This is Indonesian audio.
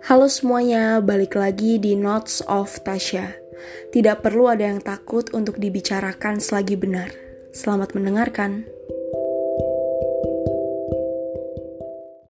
Halo semuanya, balik lagi di Notes of Tasya. Tidak perlu ada yang takut untuk dibicarakan selagi benar. Selamat mendengarkan.